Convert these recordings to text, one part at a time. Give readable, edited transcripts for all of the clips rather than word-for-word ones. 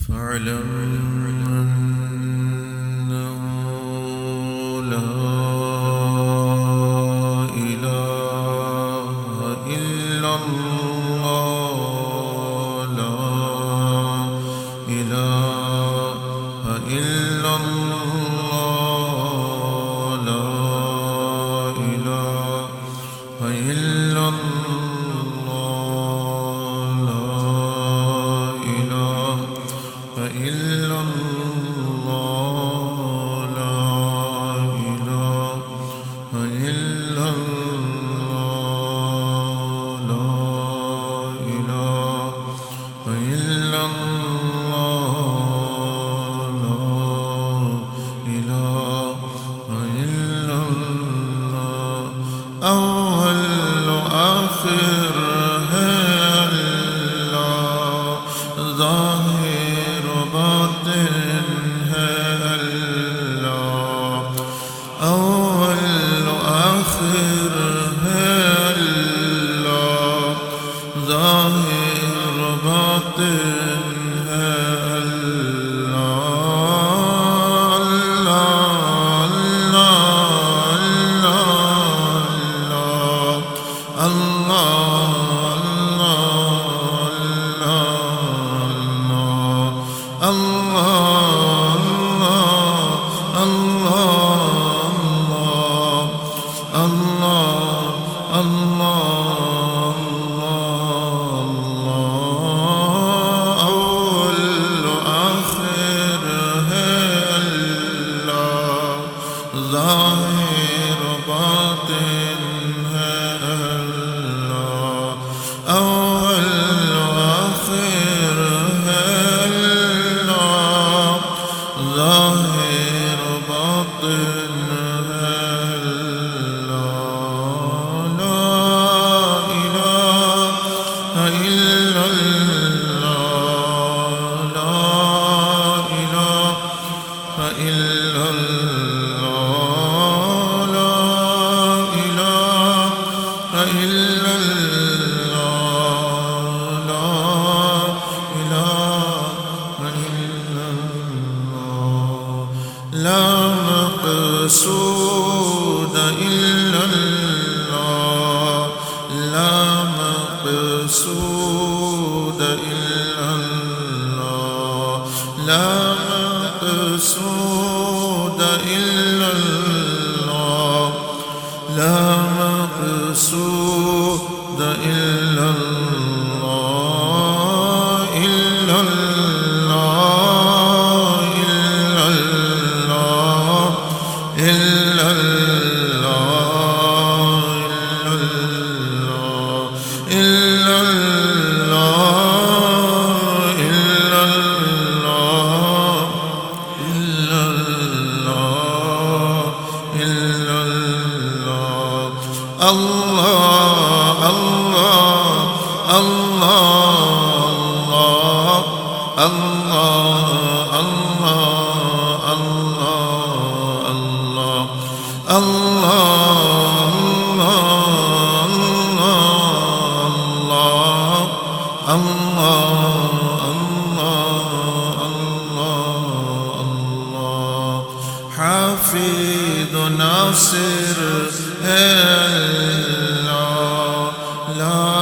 فاعلم أنه لا إله إلا الله لا إله إلا الله لا إله إلا الله لا إله إلا الله لا إله إلا الله لا إله إلا الله لا إله إلا الله أول آخر ہے اللہ ظاہر باطن ہے اللہ أول آخر ہے اللہ ظاہر باطن ہے ظاهر باطن ہے اللہ أول آخر ہے اللہ ظاہر باطن ہے اللہ لا إله إلا الله لا إله إلا الله لا إله إلا الله لا إله إلا الله لا مقصود إلا الله لا مقصود إلا الله لا مقصود إلا الله لا مقصود إلا الله إلا الله إلا الله إلا الله إلا الله إلا الله إلا الله إلا الله الله الله الله الله الله الله حفيظ ناصر الله لا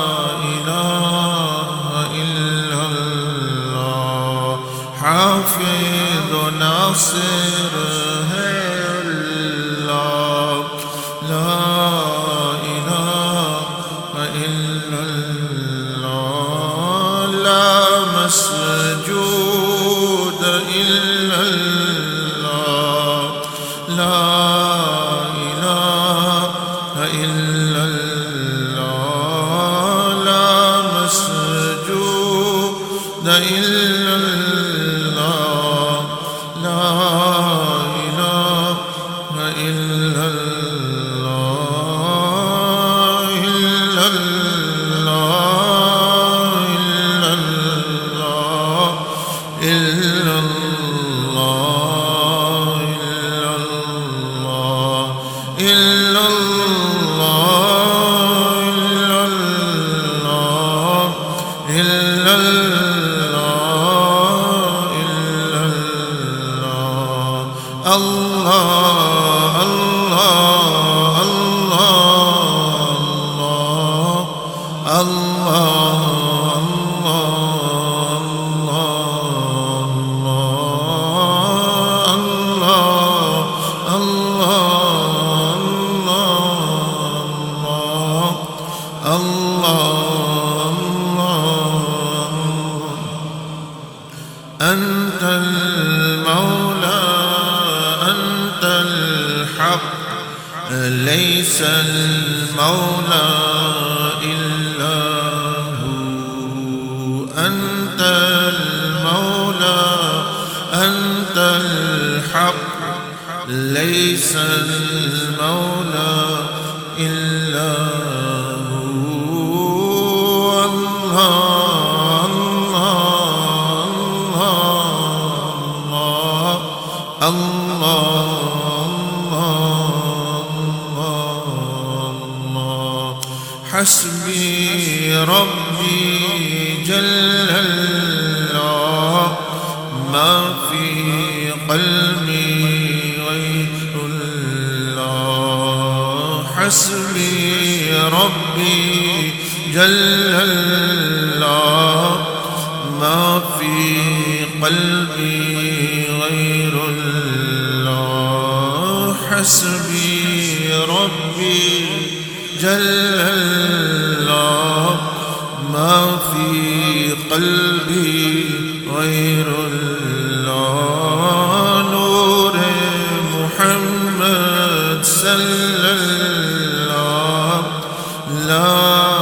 إله إلا الله حفيظ ناصر الله لا إله إلا الله لا مسجود إلا الله لا إله إلا الله لا مسجود إلا الله لا إله إلا الله إلا الله إلا الله إلا الله إلا الله إلا الله الله الله الله أنت المولى أنت الحق ليس المولى إلا هو أنت المولى أنت الحق ليس المولى إلا هو الله الله حسبي ربي جل الله ما في قلبي غير الله حسبي ربي جل الله ما في قلبي غير الله حسبي ربي جل الله ما في قلبي غير الله نور محمد صلى الله لا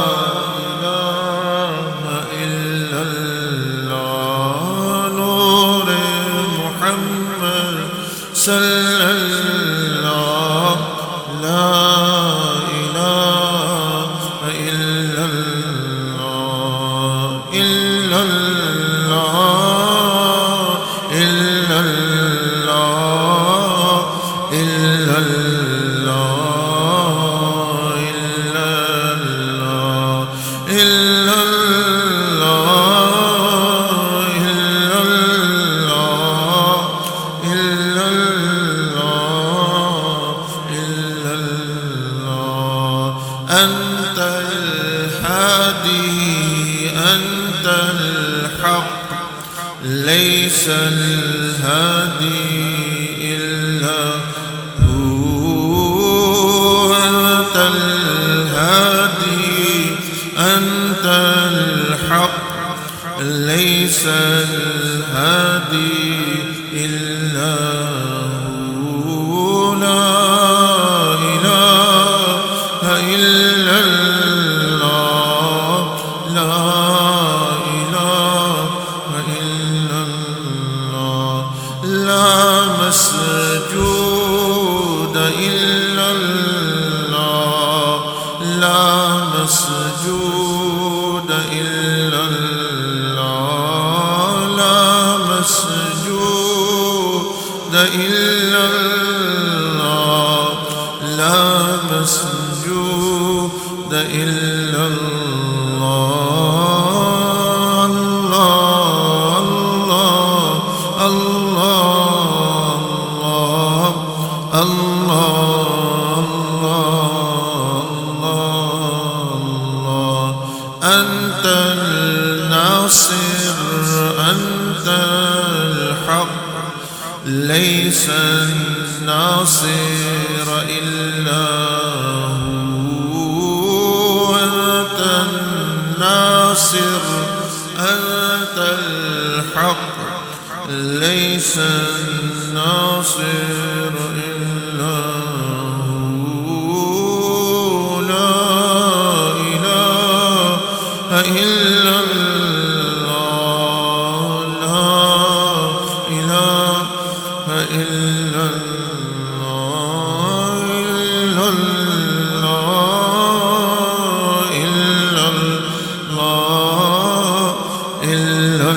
صلى الله لا إله إلا الله إلا الله إلا الله إلا الله إلا الله إلا أنت الهادي أنت الحق ليس الهادي إلا هو أنت الهادي أنت الحق ليس الهادي إلا هو لا إله إلا الله لا إله إلا الله لا مسجود إلا الله لا مسجود إلا الله لا مسجود إلا الله لا مسجود إلا الله الله الله الله الله أنت الناصر أنت الحق ليس الناصر إلا هو أنت الناصر أنت الحق ليس الناصر إلا هو لا إله إلا الله لا إله إلا الله إلا الله إلا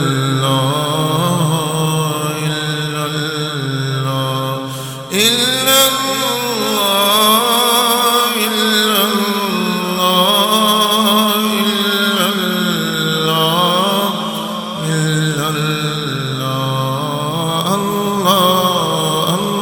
الله إلا الله إلا الله إلا الله إلا الله إلا الله الله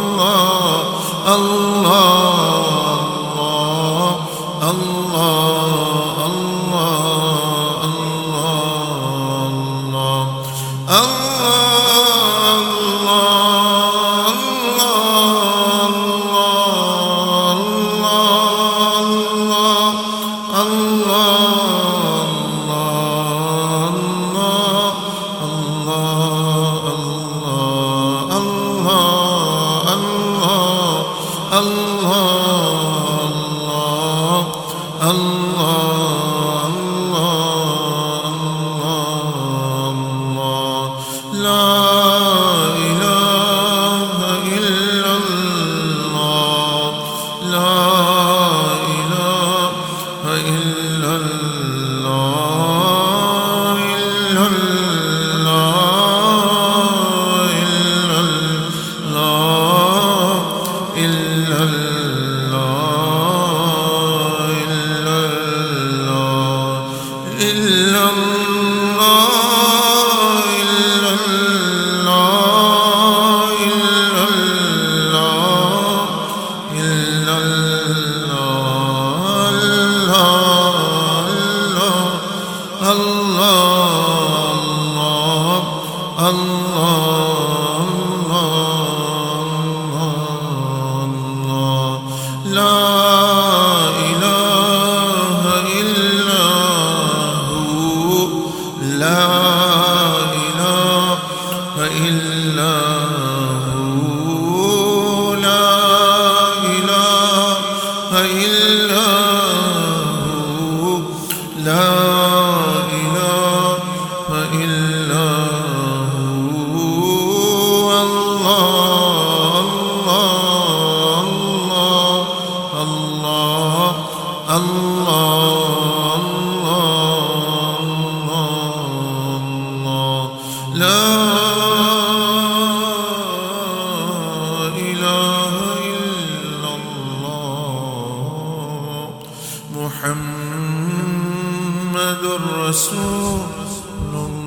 محمد رسول الله.